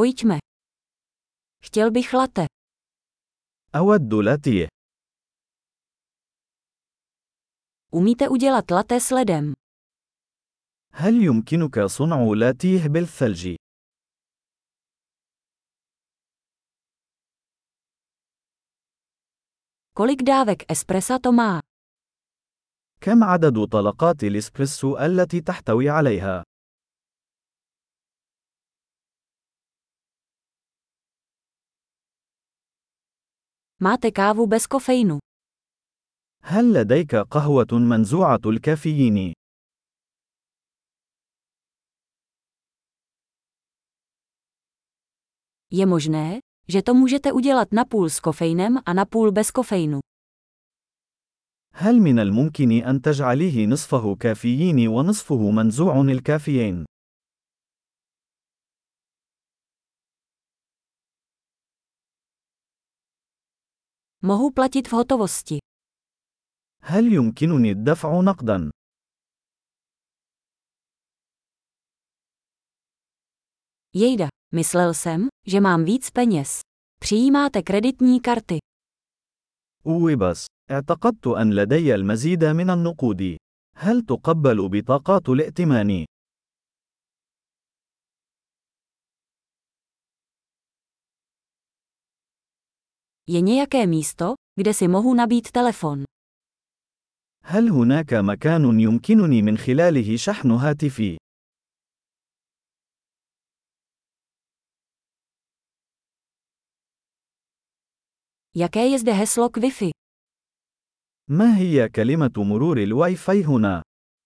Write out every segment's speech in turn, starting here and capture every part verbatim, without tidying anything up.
Pojďme. Chtěl bych latte. أود لاتيه. Umíte udělat latte s ledem? هل يمكنك صنع لاتيه بالثلج؟ Kolik dávek espressa to má? كم عدد طلقات الإسبريسو التي تحتوي عليها؟ Máte kávu bez kofeinu? هل لديك قهوة منزوعة الكافيين؟ Je možné, že to můžete udělat napůl s kofeinem a napůl bez kofeinu. هل من الممكن أن تجعليه نصفه كافيين ونصفه منزوع الكافيين؟ Mohu platit v hotovosti. هل يمكنني الدفع نقداً؟ Jejda, myslel jsem, že mám víc peněz. Přijímáte kreditní karty. أوي بس، اعتقدت أن لدي المزيد من النقود. هل تقبل بطاقات الائتمان؟ Je nějaké místo, kde si mohu nabít telefon? هل هناك مكان يمكنني من خلاله شحن هاتفي؟ Jaké je zde heslo k Wi-Fi? ما هي كلمة مرور الواي فاي هنا؟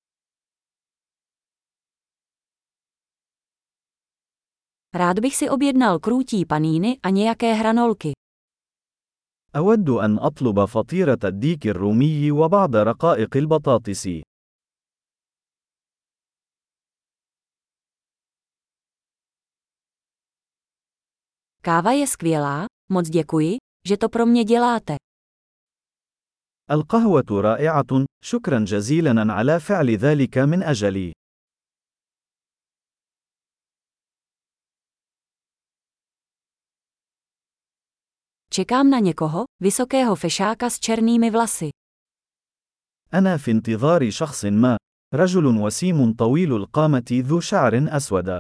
Rád bych si objednal krůtí paníny a nějaké hranolky. أود أن أطلب فطيرة الديك الرومي وبعض رقائق البطاطس. Káva je skvělá, moc děkuji, že to pro mě děláte. القهوة رائعة، شكرا جزيلا على فعل ذلك من أجلي. Čekám na někoho, vysokého fešáka s černými vlasy. أنا في انتظار شخص ما، رجل وسيم طويل القامة ذو شعر أسود.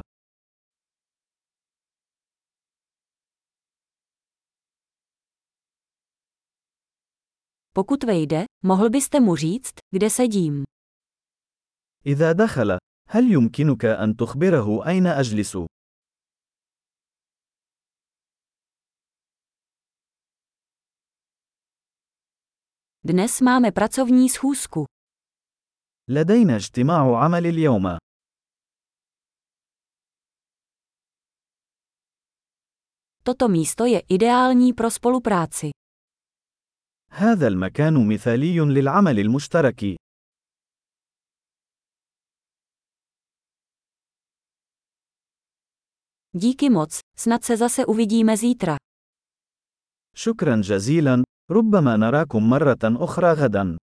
Pokud vejde, mohl byste mu říct, kde sedím. إذا دخل، هل يمكنك أن تخبره أين أجلس؟ Dnes máme pracovní schůzku. لدينا اجتماع عمل اليوم. Toto místo je ideální pro spolupráci. هذا المكان مثالي للعمل المشترك. Díky moc, snad se zase uvidíme zítra. شكرا جزيلا، ربما نراكم مرة أخرى غدا.